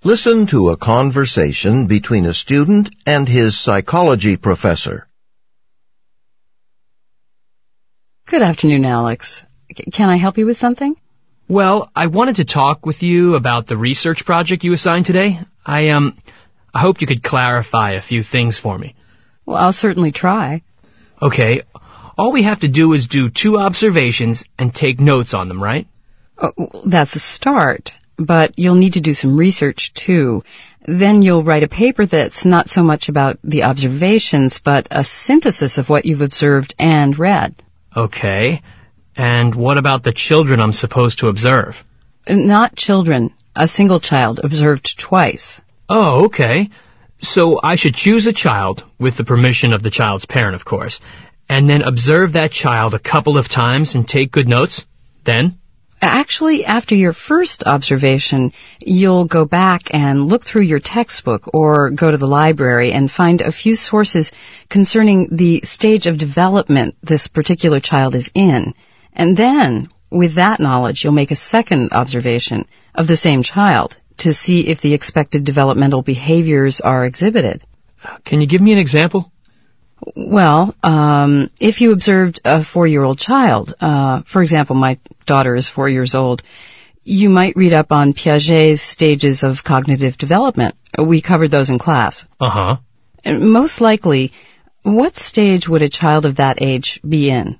Listen to a conversation between a student and his psychology professor. Good afternoon, Alex. Can I help you with something? Well, I wanted to talk with you about the research project you assigned today. I hoped you could clarify a few things for me. Well, I'll certainly try. Okay, all we have to do is do 2 observations and take notes on them, right? Oh, that's a start, but you'll need to do some research, too. Then you'll write a paper that's not so much about the observations, but a synthesis of what you've observed and read. Okay, and what about the children I'm supposed to observe? Not children. A single child observed twice. Oh, okay. So I should choose a child, with the permission of the child's parent, of course, and then observe that child a couple of times and take good notes? Then? Actually, after your first observation, you'll go back and look through your textbook or go to the library and find a few sources concerning the stage of development this particular child is in. And then, with that knowledge, you'll make a second observation of the same child to see if the expected developmental behaviors are exhibited. Can you give me an example? Well, if you observed a 4-year-old child, for example, my daughter is 4 years old, you might read up on Piaget's stages of cognitive development. We covered those in class. Uh-huh. And most likely, what stage would a child of that age be in?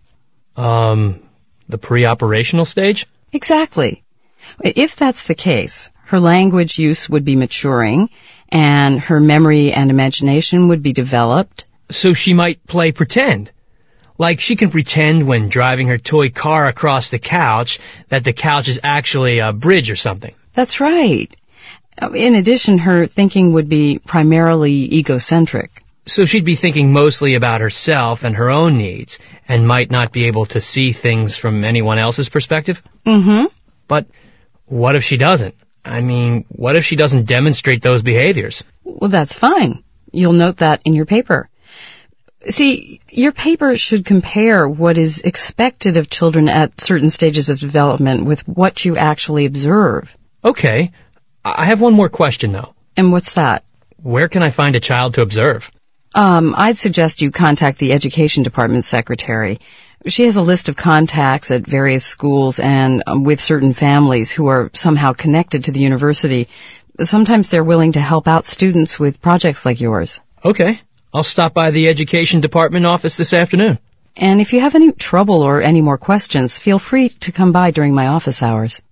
The pre-operational stage? Exactly. If that's the case, her language use would be maturing, and her memory and imagination would be developed. So she might play pretend. Like she can pretend when driving her toy car across the couch that the couch is actually a bridge or something. That's right. In addition, her thinking would be primarily egocentric. So she'd be thinking mostly about herself and her own needs, and might not be able to see things from anyone else's perspective? Mm-hmm. But what if she doesn't? I mean, what if she doesn't demonstrate those behaviors? Well, that's fine. You'll note that in your paper. See, your paper should compare what is expected of children at certain stages of development with what you actually observe. Okay. I have one more question, though. And what's that? Where can I find a child to observe? I'd suggest you contact the Education Department secretary. She has a list of contacts at various schools and with certain families who are somehow connected to the university. Sometimes they're willing to help out students with projects like yours. Okay. I'll stop by the Education Department office this afternoon. And if you have any trouble or any more questions, feel free to come by during my office hours.